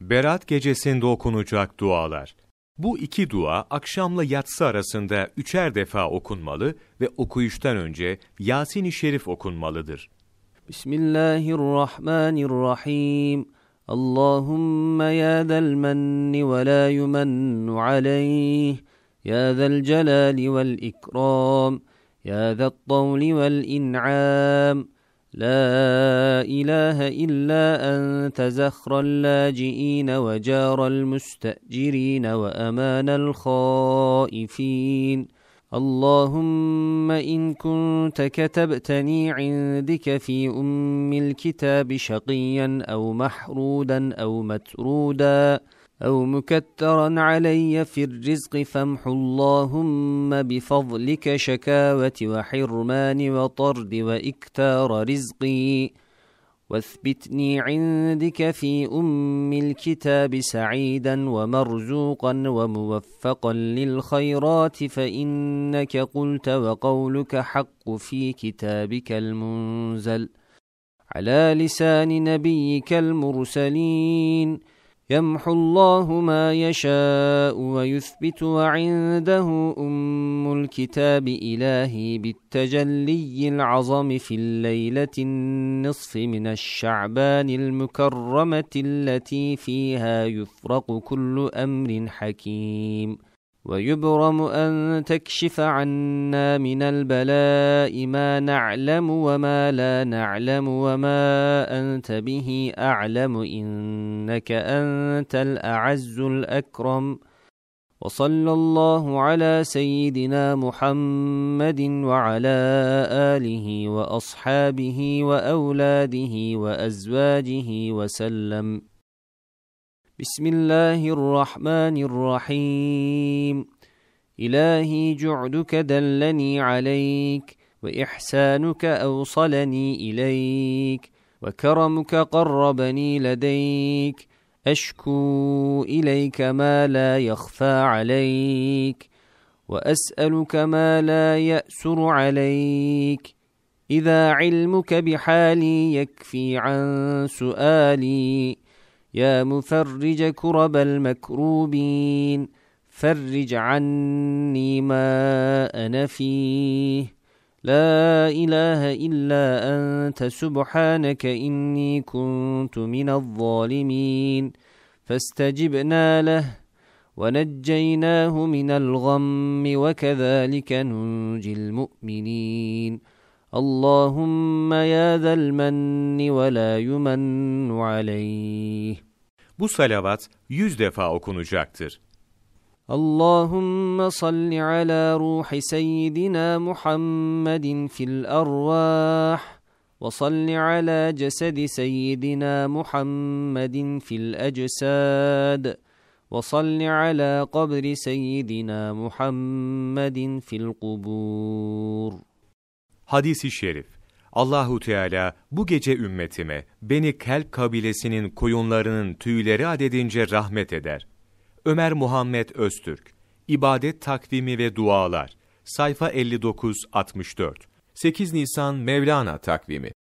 Berat gecesinde okunacak dualar. Bu iki dua akşamla yatsı arasında 3'er defa okunmalı ve okuyuştan önce Yasin-i Şerif okunmalıdır. Bismillahirrahmanirrahim. Allahümme ya zel menni ve la yumennu aleyh. Ya zel celali vel ikram. Ya zel tavli vel in'am. لا إله إلا أنت زخر اللاجئين وجار المستأجرين وأمان الخائفين اللهم إن كنت كتبتني عندك في الكتاب شقيا أو محرودا أو مترودا أو مكترا علي في الرزق فامح اللهم بفضلك شكاوة وحرمان وطرد وإكتار رزقي واثبتني عندك في الكتاب سعيدا ومرزوقا وموفقا للخيرات فإنك قلت وقولك حق في كتابك المنزل على لسان نبيك المرسلين يمحو الله ما يشاء ويثبت وعنده الكتاب إلهي بالتجلي العظم في الليلة النصف من الشعبان المكرمة التي فيها يفرق كل أمر حكيم ويبرم أن تكشف عنا من البلاء ما نعلم وما لا نعلم وما أنت به أعلم إنك أنت الأعز الأكرم وصلى الله على سيدنا محمد وعلى آله وأصحابه وأولاده وأزواجه وسلم بسم الله الرحمن الرحيم إلهي جعدك دلني عليك وإحسانك أوصلني إليك وكرمك قربني لديك أشكو إليك ما لا يخفى عليك وأسألك ما لا يأسر عليك إذا علمك بحالي يكفي عن سؤالي يا مفرج كرب المكروبين فرج عني ما أنا فيه لا إله إلا أنت سبحانك إني كنت من الظالمين فاستجبنا له ونجيناه من الغم وكذلك ننجي المؤمنين اللهم يا ذا المن ولا يمن عليه. Bu salavat 100 defa okunacaktır. اللهم صل على روح سيدنا محمد في الأرواح وصل على جسد سيدنا محمد في الأجساد وصل على قبر سيدنا محمد في القبور. Hadis-i şerif. Allahu Teala bu gece ümmetime Beni Kelp kabilesinin koyunlarının tüyleri adedince rahmet eder. Ömer Muhammed Öztürk. İbadet takvimi ve dualar. Sayfa 59-64. 8 Nisan Mevlana takvimi.